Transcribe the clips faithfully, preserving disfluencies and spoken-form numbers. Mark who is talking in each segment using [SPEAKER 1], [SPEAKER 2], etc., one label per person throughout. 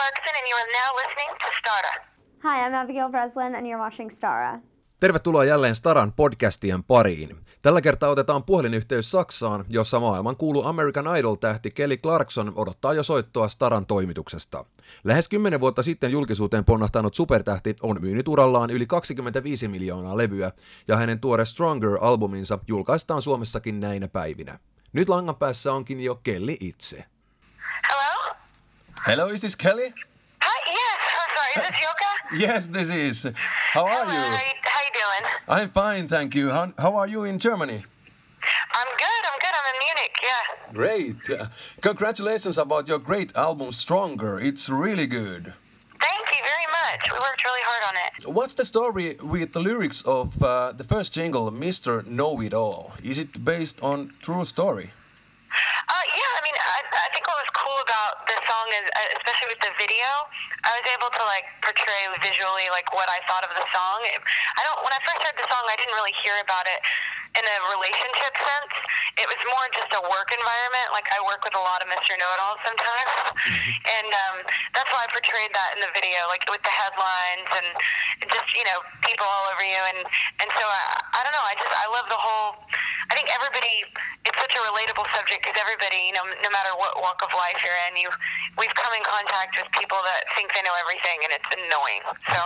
[SPEAKER 1] Clarkson, and you are now listening to Stara.
[SPEAKER 2] Hi, I'm Abigail Breslin, and you're watching Stara.
[SPEAKER 3] Tervetuloa jälleen Staran podcastien pariin. Tällä kertaa otetaan puhelinyhteys Saksaan, jossa maailman kuulu American Idol-tähti Kelly Clarkson odottaa jo soittoa Staran toimituksesta. Lähes kymmenen vuotta sitten julkisuuteen ponnahtanut supertähti on myynyt urallaan yli kaksikymmentäviisi miljoonaa levyä, ja hänen tuore Stronger-albuminsa julkaistaan Suomessakin näinä päivinä. Nyt langan päässä onkin jo Kelly itse.
[SPEAKER 1] Hello?
[SPEAKER 3] Hello, is this Kelly?
[SPEAKER 1] Hi, yes. Oh, sorry, is this Yoka?
[SPEAKER 3] Yes, this is. How are
[SPEAKER 1] Hello,
[SPEAKER 3] you?
[SPEAKER 1] How, you? how you doing?
[SPEAKER 3] I'm fine, thank you. How, how are you in Germany?
[SPEAKER 1] I'm good, I'm good. I'm in Munich, yeah.
[SPEAKER 3] Great. Uh, congratulations about your great album Stronger. It's really good.
[SPEAKER 1] Thank you very much. We worked really hard on it.
[SPEAKER 3] What's the story with the lyrics of uh, the first jingle, Mister Know-It-All? Is it based on true story?
[SPEAKER 1] Uh, yeah, I mean, I, I think what was cool about this song is, uh, especially with the video, I was able to like portray visually like what I thought of the song. It, I don't. When I first heard the song, I didn't really hear about it in a relationship sense. It was more just a work environment. Like I work with a lot of Mister Know-It-Alls sometimes, and um, that's why I portrayed that in the video, like with the headlines and just you know people all over you, and and so I, I don't know. I just I love the whole. I think everybody. It's such a relatable subject because everybody, you know, no matter what walk of life you're in, you we've come in contact with people that think they know everything, and it's annoying. So.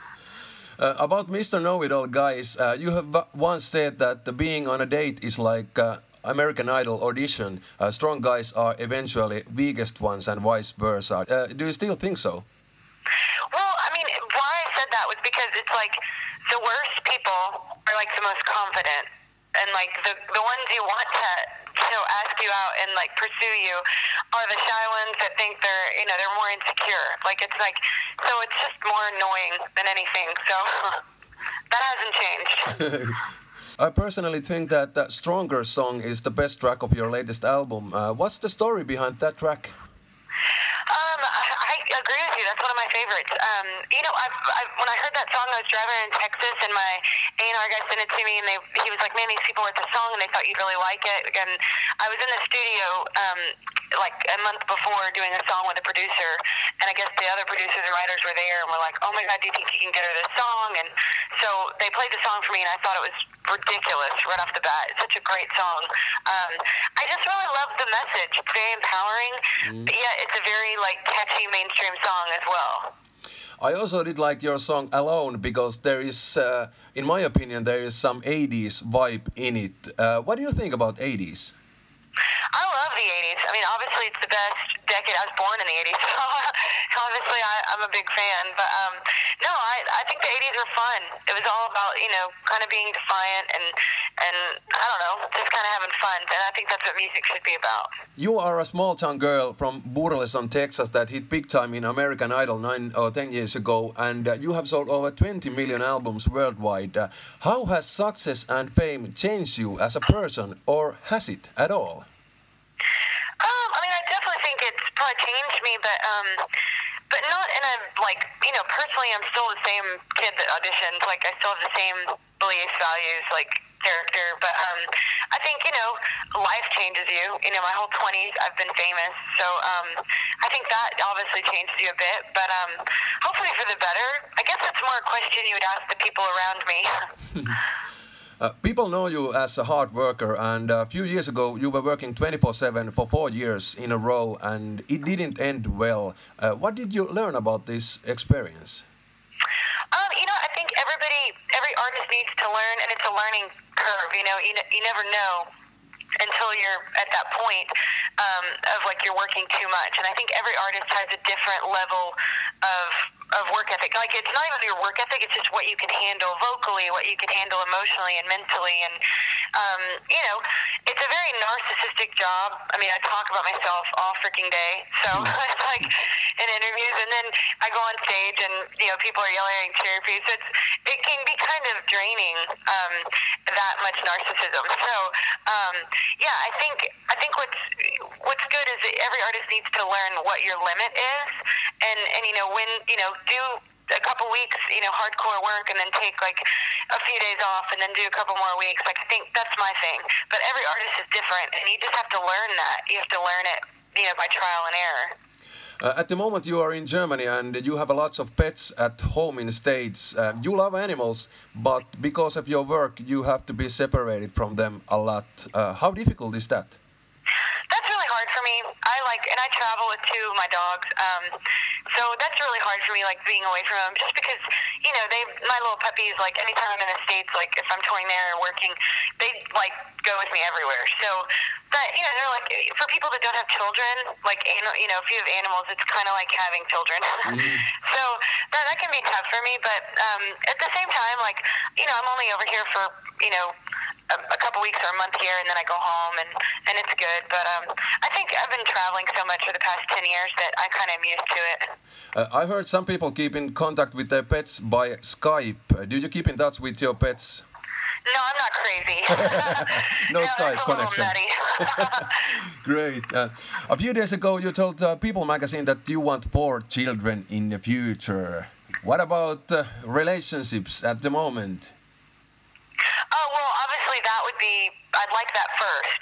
[SPEAKER 3] Uh, about Mister Know-It-All, guys, uh, you have once said that the being on a date is like uh, American Idol audition. Uh, strong guys are eventually weakest ones and vice versa. Uh, do you still think so?
[SPEAKER 1] Well, I mean, why I said that was because it's like the worst people are like the most confident, and like the the ones you want to you know ask you out and like pursue you are the shy ones that think they're you know they're more insecure. Like it's like so it's just more annoying than anything. So that hasn't changed.
[SPEAKER 3] I personally think that that Stronger song is the best track of your latest album. Uh, what's the story behind that track?
[SPEAKER 1] Um, I, I agree with you. That's one of my favorites. Um, you know, I've, I've, when I heard that song, I was driving in Texas, and my A and R guy sent it to me, and they, he was like, "Man, these people wrote the song, and they thought you'd really like it." And I was in the studio um, like a month before doing a song with a producer, and I guess the other producers and writers were there, and were like, "Oh my God, do you think you can get her this song?" And so they played the song for me, and I thought it was ridiculous right off the bat. It's such a great song. Um, I just really love the message. It's very empowering, mm. but yet it's a very like catchy mainstream song as well.
[SPEAKER 3] I also did like your song Alone because there is, uh, in my opinion, there is some eighties vibe in it. Uh, what do you think about eighties?
[SPEAKER 1] I love the eighties. I mean, obviously it's the best decade. I was born in the eighties, so obviously I, I'm a big fan. But um, no, I, I think the eighties were fun. It was all about, you know, kind of being defiant and, and I don't know, just kind of having fun. And I think that's what music should be about.
[SPEAKER 3] You are a small-town girl from Burleson, Texas that hit big time in American Idol nine or ten years ago, and uh, you have sold over twenty million albums worldwide. Uh, how has success and fame changed you as a person, or has it at all?
[SPEAKER 1] Um, I mean, I definitely think it's probably changed me, but um, but not in a like you know personally. I'm still the same kid that auditioned. Like I still have the same beliefs, values, like character. But um, I think you know life changes you. You know, my whole twenties I've been famous, so um, I think that obviously changes you a bit. But um, hopefully for the better. I guess that's more a question you would ask the people around me.
[SPEAKER 3] Uh, people know you as a hard worker, and a few years ago you were working twenty-four seven for four years in a row, and it didn't end well. Uh, what did you learn about this experience?
[SPEAKER 1] Um, you know, I think everybody, every artist needs to learn, and it's a learning curve. You know, you, you never know until you're at that point um, of like you're working too much. And I think every artist has a different level of of work ethic. Like it's not even your work ethic; it's just what you can handle vocally, what you can handle emotionally and mentally. And um, you know, it's a very narcissistic job. I mean, I talk about myself all freaking day, so it's like in interviews, and then I go on stage, and you know, people are yelling cheer for you. So it's it can be kind of draining. Um, that much narcissism. So um, yeah, I think I think what's what's good is that every artist needs to learn what your limit is, and and you know when you know do a couple weeks you know hardcore work and then take like a few days off and then do a couple more weeks. Like I think that's my thing. But every artist is different, and you just have to learn that. You have to learn it you know by trial and error.
[SPEAKER 3] Uh, at the moment you are in Germany and you have a lots of pets at home in the States. Uh, you love animals, but because of your work you have to be separated from them a lot. Uh, how difficult is that?
[SPEAKER 1] That's really hard for me. I like, and I travel with two of my dogs, um, so that's really hard for me, like being away from them, just because, you know, they, my little puppies, like anytime I'm in the States, like if I'm touring there or working, they like go with me everywhere. So that, you know, they're like, for people that don't have children, like, you know, if you have animals, it's kind of like having children. Mm-hmm. So that, that can be tough for me, but um, at the same time, like, you know, I'm only over here for, you know, a, a couple weeks or a month here, and then I go home, and, and it's good. But um, I think I've been traveling so much for the past ten years that I kind of am used to it.
[SPEAKER 3] Uh, I heard some people keep in contact with their pets by Skype. Uh, do you keep in touch with your pets?
[SPEAKER 1] No, I'm not crazy.
[SPEAKER 3] no, no
[SPEAKER 1] that's
[SPEAKER 3] Skype
[SPEAKER 1] a
[SPEAKER 3] connection. Great. Uh, a few days ago, you told uh, People magazine that you want four children in the future. What about uh, relationships at the moment?
[SPEAKER 1] Oh, well, obviously that would be, I'd like that first.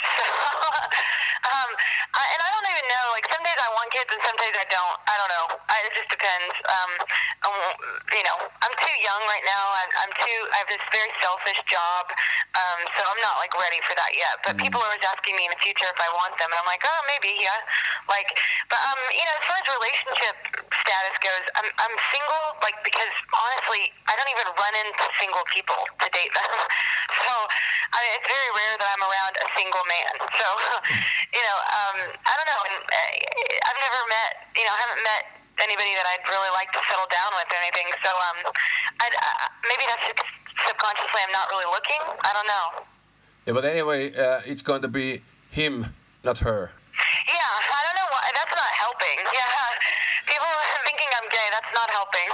[SPEAKER 1] um, I, and I don't even know, like some days I want kids and some days I don't. I don't know. I, it just depends. Um, um, you know, I'm too young right now. I'm, I'm too, I have this very selfish job, um, so I'm not like ready for that yet. But mm. people are always asking me in the future if I want them, and I'm like, oh, maybe, yeah. Like, but, um, you know, as far as relationship status goes, I'm, I'm single, like, because honestly, I don't even run into single people to date them. So, I mean, it's very rare that I'm around a single man. So, you know, um, I don't know. And I've never met, you know, I haven't met anybody that I'd really like to settle down with or anything. So, um, I'd, uh, maybe that's subconsciously I'm not really looking. I don't know.
[SPEAKER 3] Yeah, but anyway, uh, it's going to be him, not her.
[SPEAKER 1] Yeah, I don't know why. That's not helping. Yeah, people thinking I'm gay. That's not helping.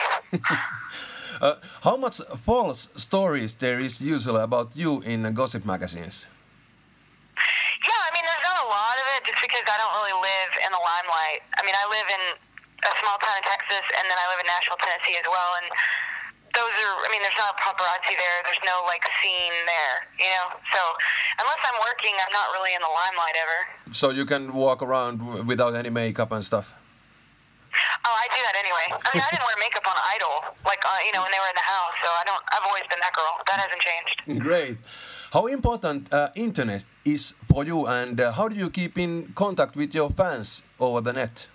[SPEAKER 3] Uh, how much false stories there is usually about you in uh, gossip magazines?
[SPEAKER 1] Yeah, I mean, there's not a lot of it just because I don't really live in the limelight. I mean, I live in a small town in Texas, and then I live in Nashville, Tennessee as well, and those are, I mean, there's not paparazzi there. There's no, like, scene there, you know? So unless I'm working, I'm not really in the limelight ever. So
[SPEAKER 3] you can walk around w- without any makeup and stuff?
[SPEAKER 1] Oh, I do that anyway. I mean, I didn't wear makeup on Idol, like, uh, you know, when they were in the house, so I don't, I've always been that girl. That hasn't changed.
[SPEAKER 3] Great. How important uh, internet is for you, and uh, how do you keep in contact with your fans over the net?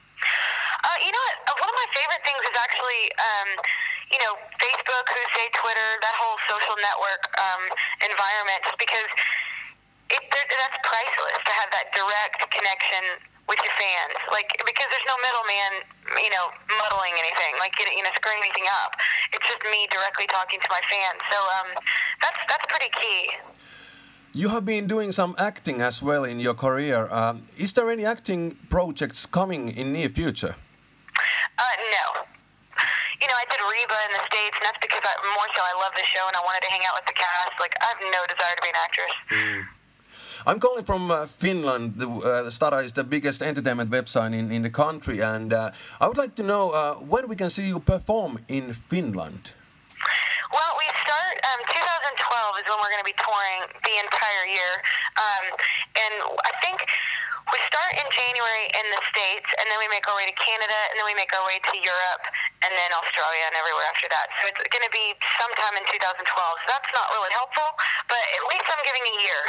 [SPEAKER 1] Uh, you know what? Uh, one of my favorite things is actually, um, you know, Facebook, Who Say Twitter, that whole social network um, environment, just because it, that's priceless to have that direct connection with your fans, like, because there's no middleman, you know, muddling anything, like, you know, screwing anything up. It's just me directly talking to my fans. So um, that's that's pretty key.
[SPEAKER 3] You have been doing some acting as well in your career. Um, is there any acting projects coming in near future?
[SPEAKER 1] Uh, no. You know, I did Reba in the States, and that's because I, more so I love the show and I wanted to hang out with the cast. Like, I have no desire to be an actress.
[SPEAKER 3] Mm. I'm calling from uh, Finland. The uh, Stara is the biggest entertainment website in, in the country, and uh, I would like to know uh, when we can see you perform in Finland.
[SPEAKER 1] Well, we start, um, twenty twelve is when we're going to be touring the entire year, um, and I think we start in January in the States, and then we make our way to Canada, and then we make our way to Europe, and then Australia and everywhere after that. So it's going to be sometime in two thousand twelve. So that's not really helpful, but at least I'm giving a year.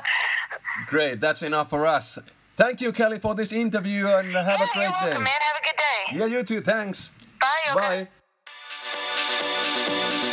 [SPEAKER 3] Great, that's enough for us. Thank you, Kelly, for this interview, and have
[SPEAKER 1] yeah,
[SPEAKER 3] a great
[SPEAKER 1] you're welcome,
[SPEAKER 3] day.
[SPEAKER 1] Man, have a good day.
[SPEAKER 3] Yeah, you too. Thanks.
[SPEAKER 1] Bye. Okay.
[SPEAKER 3] Bye.